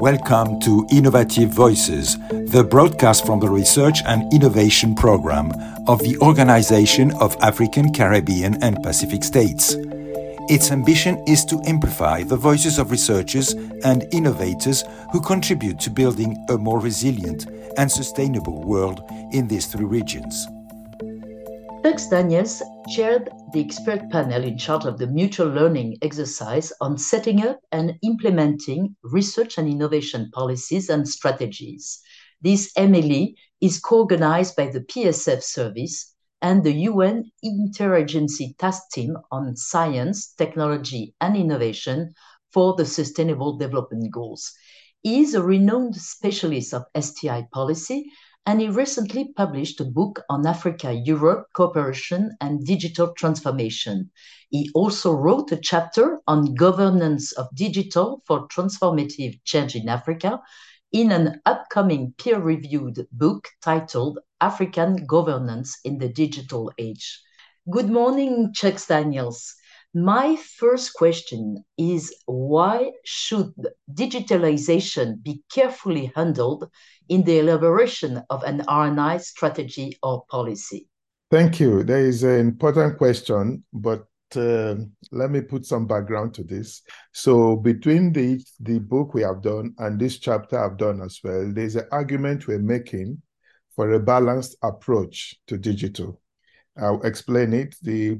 Welcome to Innovative Voices, the broadcast from the Research and Innovation Program of the Organization of African, Caribbean and Pacific States. Its ambition is to amplify the voices of researchers and innovators who contribute to building a more resilient and sustainable world in these three regions. Chuck Daniels chaired the expert panel in charge of the mutual learning exercise on setting up and implementing research and innovation policies and strategies. This MLE is co-organized by the PSF Service and the UN Interagency Task Team on Science, Technology and Innovation for the Sustainable Development Goals. He is a renowned specialist of STI policy, and he recently published a book on Africa-Europe cooperation and digital transformation. He also wrote a chapter on governance of digital for transformative change in Africa in an upcoming peer-reviewed book titled African Governance in the Digital Age. Good morning, Chuck Daniels. My first question is, why should digitalization be carefully handled in the elaboration of an R&I strategy or policy? Thank you. There is an important question, but let me put some background to this. So between the book we have done and this chapter I've done as well, there's an argument we're making for a balanced approach to digital. I'll explain it.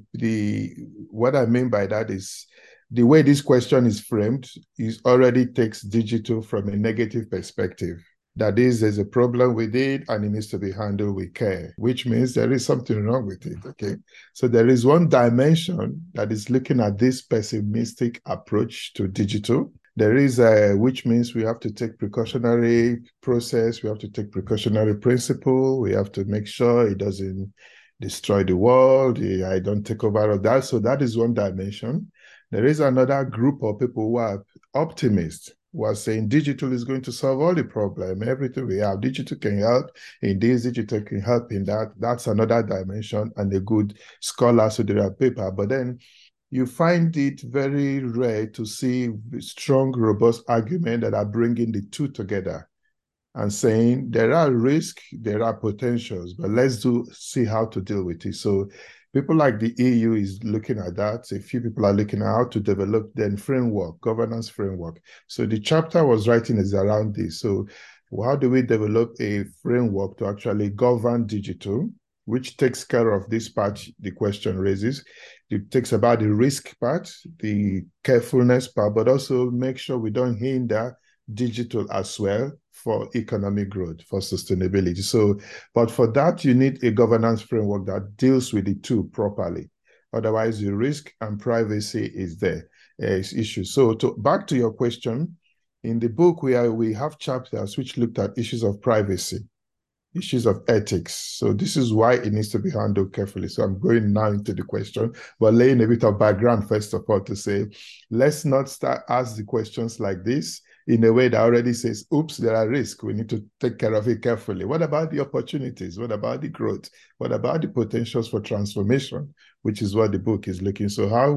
What I mean by that is the way this question is framed already takes digital from a negative perspective. That is, there's a problem with it and it needs to be handled with care, which means there is something wrong with it, okay? So there is one dimension that is looking at this pessimistic approach to digital. There is which means we have to take precautionary process, we have to take precautionary principle, we have to make sure it doesn't destroy the world, I don't take over of that. So that is one dimension. There is another group of people who are optimists, who are saying digital is going to solve all the problem. Everything we have, digital can help in this, digital can help in that. That's another dimension and a good scholar to their paper. But then you find it very rare to see strong, robust arguments that are bringing the two together and saying there are risks, there are potentials, but let's see how to deal with it. So people like the EU is looking at that. A few people are looking at how to develop then governance framework. So the chapter I was writing is around this. So how do we develop a framework to actually govern digital, which takes care of this part the question raises. It takes about the risk part, the carefulness part, but also make sure we don't hinder digital as well for economic growth, for sustainability. So, but for that, you need a governance framework that deals with the two properly. Otherwise, the risk and privacy is there, is issues. So back to your question, in the book, we have chapters which looked at issues of privacy, issues of ethics. So this is why it needs to be handled carefully. So I'm going now into the question, but laying a bit of background, first of all, to say, let's not ask the questions like this in a way that already says, oops, there are risks. We need to take care of it carefully. What about the opportunities? What about the growth? What about the potentials for transformation, which is what the book is looking. So how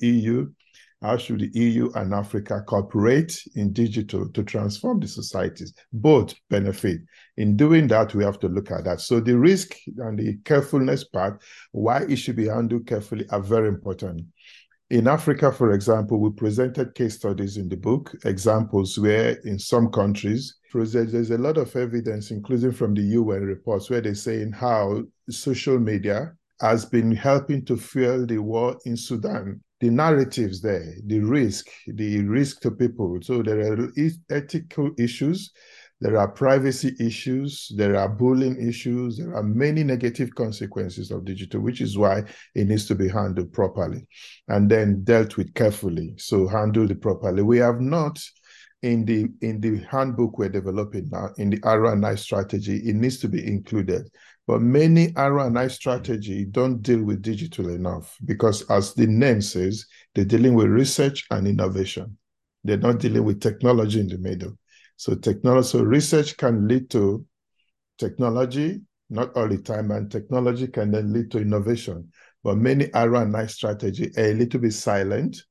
should the EU and Africa cooperate in digital to transform the societies? Both benefit. In doing that, we have to look at that. So the risk and the carefulness part, why it should be handled carefully, are very important. In Africa, for example, we presented case studies in the book, examples where in some countries, there's a lot of evidence, including from the UN reports, where they're saying how social media has been helping to fuel the war in Sudan. The narratives there, the risk to people. So there are ethical issues, there are privacy issues, there are bullying issues, there are many negative consequences of digital, which is why it needs to be handled properly and then dealt with carefully. So handled it properly. We have not, in the handbook we're developing now, in the R&I strategy, it needs to be included. But many R&I strategy don't deal with digital enough because, as the name says, they're dealing with research and innovation. They're not dealing with technology in the middle. So research can lead to technology, not all the time, and technology can then lead to innovation. But many R&I strategy are a little bit silent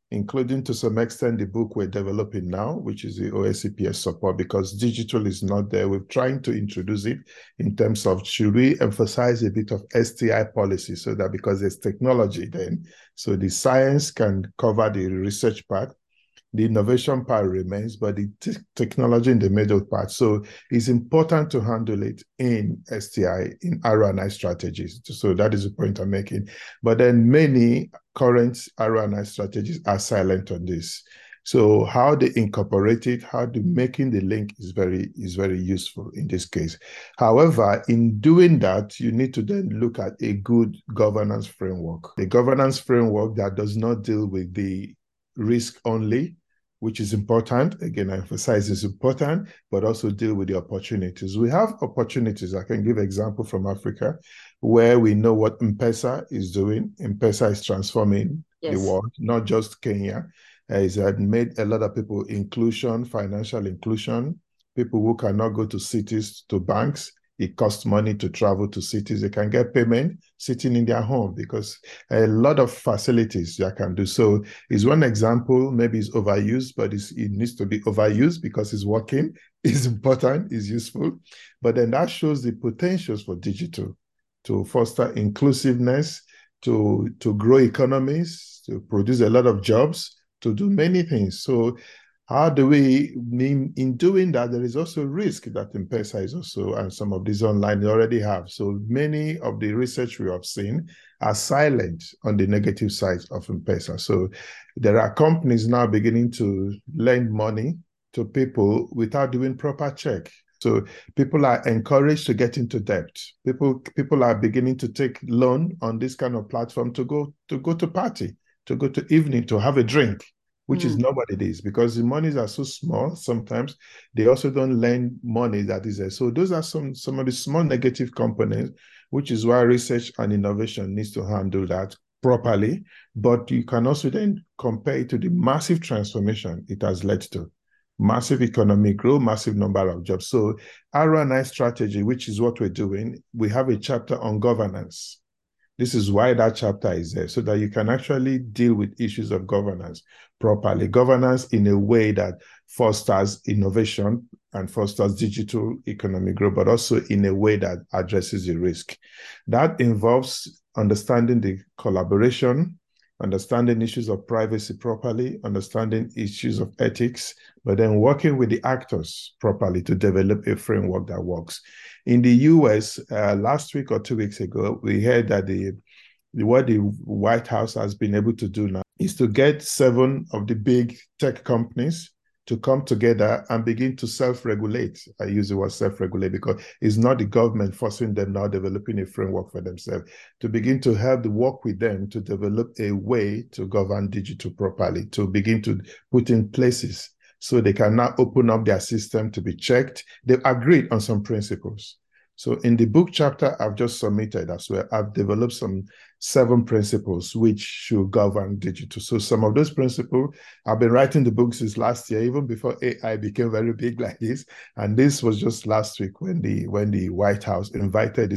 including to some extent the book we're developing now, which is the OSCPS support, because digital is not there. We're trying to introduce it in terms of, should we emphasize a bit of STI policy, so that because there's technology then, so the science can cover the research part, the innovation part remains, but the technology in the middle part. So it's important to handle it in STI, in R&I strategies. So that is the point I'm making. But then many current R&I strategies are silent on this. So how they incorporate it, how they making the link is very useful in this case. However, in doing that, you need to then look at a good governance framework. A governance framework that does not deal with the risk only, which is important. Again, I emphasize it's important, but also deal with the opportunities. We have opportunities. I can give an example from Africa, where we know what M-Pesa is doing. M-Pesa is transforming the world, not just Kenya. It's made a lot of people financial inclusion, people who cannot go to cities, to banks. It costs money to travel to cities. They can get payment sitting in their home, because a lot of facilities they can do. So it's one example. Maybe it's overused, but it needs to be overused because it's working, it's important, it's useful. But then that shows the potentials for digital to foster inclusiveness, to grow economies, to produce a lot of jobs, to do many things. So how do we, in doing that, there is also risk that M-Pesa is also, and some of these online already have. So many of the research we have seen are silent on the negative side of M-Pesa. So there are companies now beginning to lend money to people without doing proper check. So people are encouraged to get into debt. People are beginning to take loan on this kind of platform to go to party, to go to evening, to have a drink, which is not what it is, because the monies are so small. Sometimes they also don't lend money that is there. So those are some of the small negative components, which is why research and innovation needs to handle that properly. But you can also then compare it to the massive transformation it has led to. Massive economic growth, massive number of jobs. So R&I strategy, which is what we're doing, we have a chapter on governance. This is why that chapter is there, so that you can actually deal with issues of governance properly. Governance in a way that fosters innovation and fosters digital economic growth, but also in a way that addresses the risk. That involves understanding the collaboration, understanding issues of privacy properly, understanding issues of ethics, but then working with the actors properly to develop a framework that works. In the US, last week or 2 weeks ago, we heard that what the White House has been able to do now is to get 7 of the big tech companies to come together and begin to self-regulate. I use the word self-regulate because it's not the government forcing them now, developing a framework for themselves, to begin to help work with them to develop a way to govern digital properly, to begin to put in places so they can now open up their system to be checked. They've agreed on some principles. So in the book chapter I've just submitted as well, I've developed some 7 principles which should govern digital. So some of those principles, I've been writing the book since last year, even before AI became very big like this. And this was just last week when the White House invited the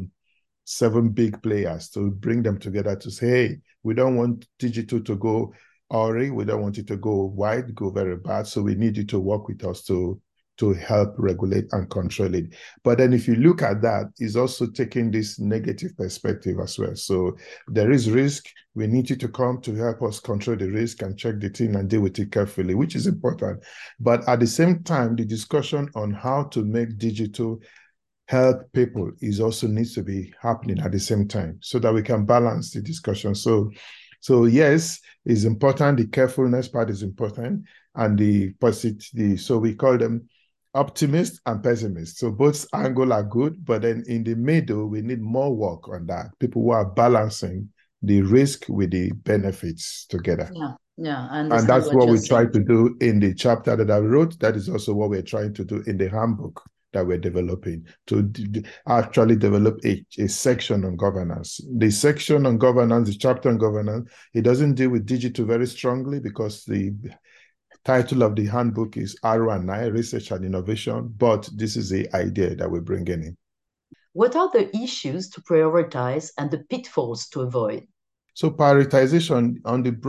seven big players to bring them together to say, hey, we don't want digital to go awry, we don't want it to go wide, go very bad. So we need you to work with us to help regulate and control it. But then if you look at that, it's also taking this negative perspective as well. So there is risk. We need you to come to help us control the risk and check the thing and deal with it carefully, which is important. But at the same time, the discussion on how to make digital help people is also needs to be happening at the same time so that we can balance the discussion. So yes, it's important. The carefulness part is important, and the positive. So we call them optimist and pessimist. So both angles are good, but then in the middle, we need more work on that. People who are balancing the risk with the benefits together. Yeah. And that's what we try to do in the chapter that I wrote. That is also what we're trying to do in the handbook that we're developing, to actually develop a section on governance. The section on governance, the chapter on governance, it doesn't deal with digital very strongly because the title of the handbook is R&I, Research and Innovation, but this is the idea that we're bringing in. What are the issues to prioritize and the pitfalls to avoid? So prioritization, on the broad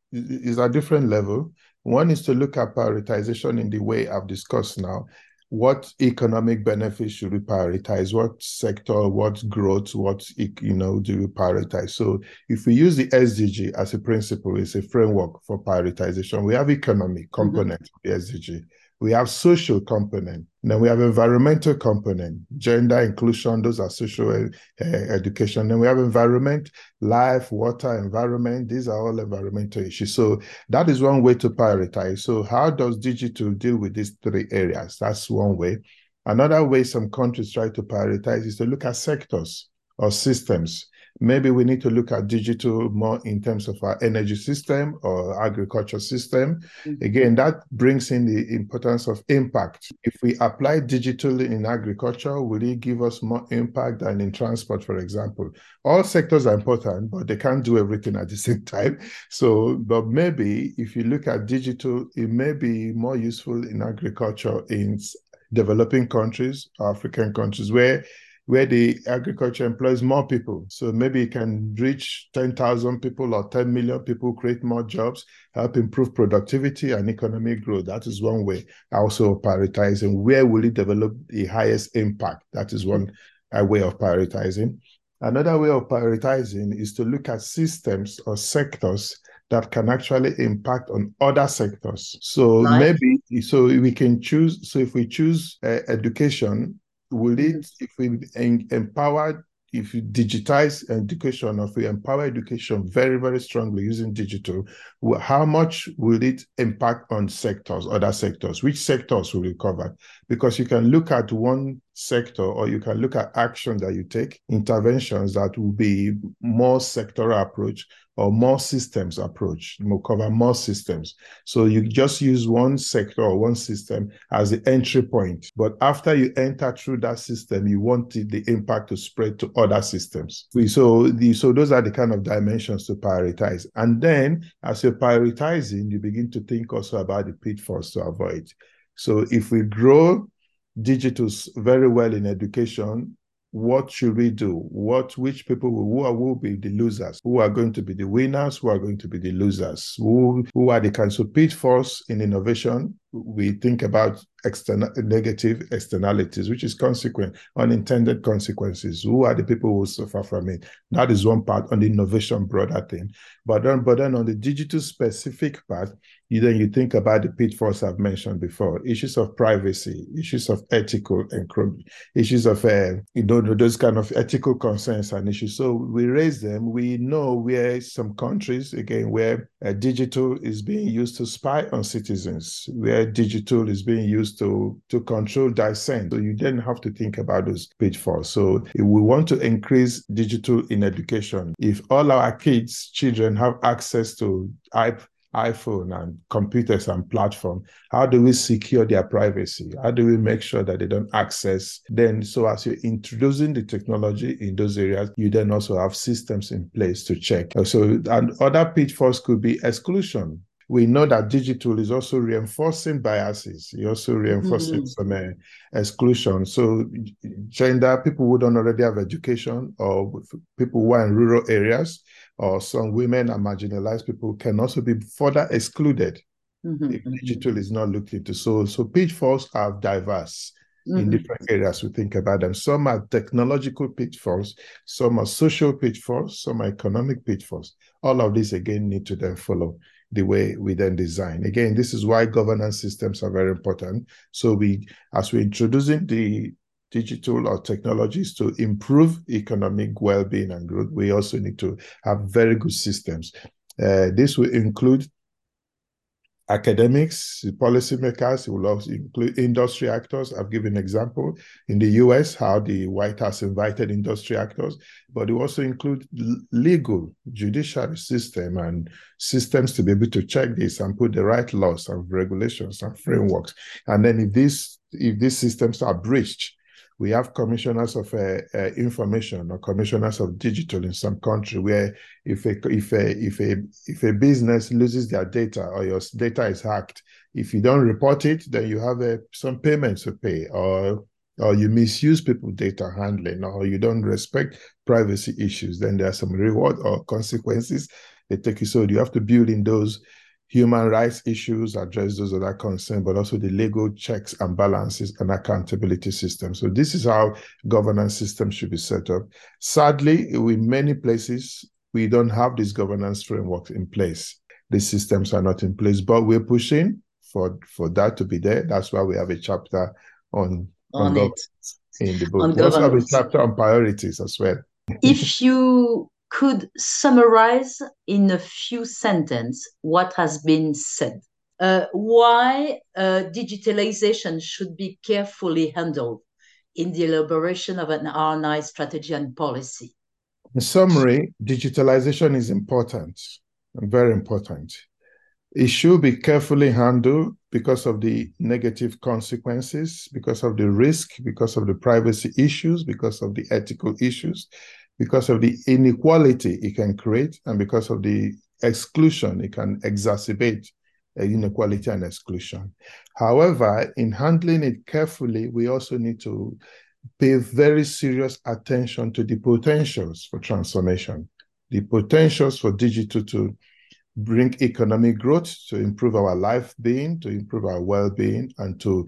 is a different level. One is to look at prioritization in the way I've discussed now. What economic benefits should we prioritize? What sector, what growth, what do we prioritize? So if we use the SDG as a principle, it's a framework for prioritization. We have economic component of the SDG. We have social component. Then we have environmental component, gender inclusion, those are social education. Then we have environment, life, water, environment. These are all environmental issues. So that is one way to prioritize. So how does digital deal with these three areas? That's one way. Another way some countries try to prioritize is to look at sectors or systems. Maybe we need to look at digital more in terms of our energy system or agriculture system. Again, that brings in the importance of impact. If we apply digital in agriculture, will it give us more impact than in transport, for example? All sectors are important, but they can't do everything at the same time. So, but maybe if you look at digital, it may be more useful in agriculture in developing countries, African countries, where the agriculture employs more people. So maybe it can reach 10,000 people or 10 million people, create more jobs, help improve productivity and economic growth. That is one way. Also prioritizing where will it develop the highest impact. That is one way of prioritizing. Another way of prioritizing is to look at systems or sectors that can actually impact on other sectors. So maybe, so we can choose, so if we choose education, will it, if we empower, if you digitize education, or if we empower education very, very strongly using digital, how much will it impact on sectors, other sectors? Which sectors will it cover? Because you can look at one sector, or you can look at action that you take, interventions that will be more sectoral approach or more systems approach, will cover more systems. So you just use one sector or one system as the entry point. But after you enter through that system, you want the impact to spread to other systems. So those are the kind of dimensions to prioritize. And then as you're prioritizing, you begin to think also about the pitfalls to avoid. So if we grow digital very well in education, what should we do? Which people will be the losers? Who are going to be the winners? Who are going to be the losers? Who are the kinds of pitfalls in innovation? We think about negative externalities, which is unintended consequences. Who are the people who suffer from it? That is one part on the innovation broader thing. But then on the digital specific part, you think about the pitfalls I've mentioned before, issues of privacy, issues of ethical encroachment, issues of those kind of ethical concerns and issues. So we raise them. We know where some countries, again, where digital is being used to spy on citizens, where digital is being used to control dissent. So you then have to think about those pitfalls. So if we want to increase digital in education, if all our children have access to iPhone and computers and platform, how do we secure their privacy? How do we make sure that they don't access? Then, so as you're introducing the technology in those areas, you then also have systems in place to check. So, and other pitfalls could be exclusion. We know that digital is also reinforcing biases. You're also reinforcing some exclusion. So gender, people who don't already have education, or people who are in rural areas, or some women and marginalized people can also be further excluded if digital is not looked into. So pitfalls are diverse in different areas. We think about them. Some are technological pitfalls, some are social pitfalls, some are economic pitfalls. All of these, again, need to then follow the way we then design. Again, this is why governance systems are very important. So as we're introducing the digital or technologies to improve economic well-being and growth, we also need to have very good systems. This will include academics, policymakers. It will also include industry actors. I've given an example in the US, how the White House invited industry actors, but it will also include legal, judiciary system and systems to be able to check this and put the right laws and regulations and frameworks. And then if these systems are breached, we have commissioners of information or commissioners of digital in some country, where if a business loses their data or your data is hacked, if you don't report it, then you have some payments to pay, or you misuse people's data handling, or you don't respect privacy issues, then there are some reward or consequences they take it. So you have to build in those human rights issues, address those other concerns, but also the legal checks and balances and accountability system. So this is how governance systems should be set up. Sadly, in many places, we don't have these governance frameworks in place. These systems are not in place, but we're pushing for that to be there. That's why we have a chapter on governance in the book. We also have a chapter on priorities as well. If you could summarize in a few sentences what has been said, why digitalization should be carefully handled in the elaboration of an R&I strategy and policy? In summary, digitalization is important, very important. It should be carefully handled because of the negative consequences, because of the risk, because of the privacy issues, because of the ethical issues, because of the inequality it can create, and because of the exclusion it can exacerbate inequality and exclusion. However, in handling it carefully, we also need to pay very serious attention to the potentials for transformation, the potentials for digital to bring economic growth, to improve our life being, to improve our well-being, and to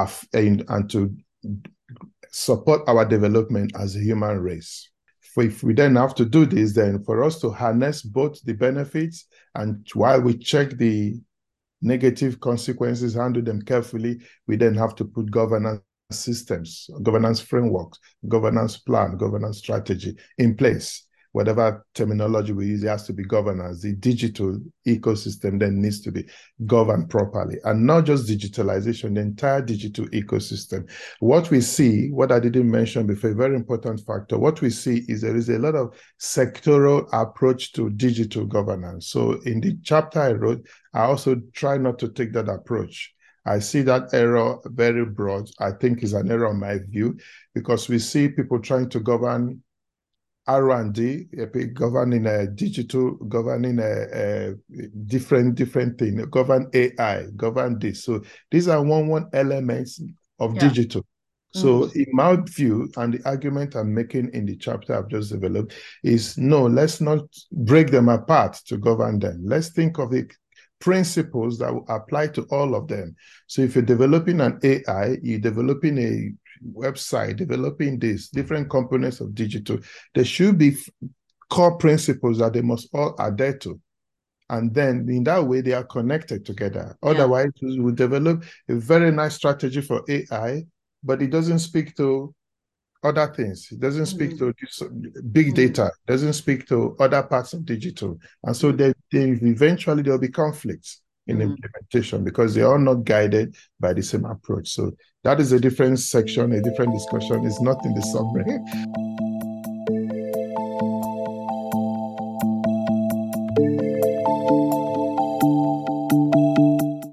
support our development as a human race. If we then have to do this, then for us to harness both the benefits and while we check the negative consequences, handle them carefully, we then have to put governance systems, governance frameworks, governance plan, governance strategy in place. Whatever terminology we use, it has to be governance. The digital ecosystem then needs to be governed properly, and not just digitalization, the entire digital ecosystem. What we see, what I didn't mention before, a very important factor, what we see is there is a lot of sectoral approach to digital governance. So in the chapter I wrote, I also try not to take that approach. I see that error very broad. I think is an error in my view, because we see people trying to govern R&D, governing a digital, governing a different thing, govern AI, govern this. So these are one elements of digital. So in my view, and the argument I'm making in the chapter I've just developed is, no, let's not break them apart to govern them. Let's think of the principles that will apply to all of them. So if you're developing an AI, you're developing a website, developing these different components of digital, there should be core principles that they must all adhere to. And then in that way, they are connected together. Otherwise, we will develop a very nice strategy for AI, but it doesn't speak to other things. It doesn't speak to big data. It doesn't speak to other parts of digital. And so eventually there will be conflicts in implementation because they are not guided by the same approach. So that is a different section, a different discussion. It's not in the summary.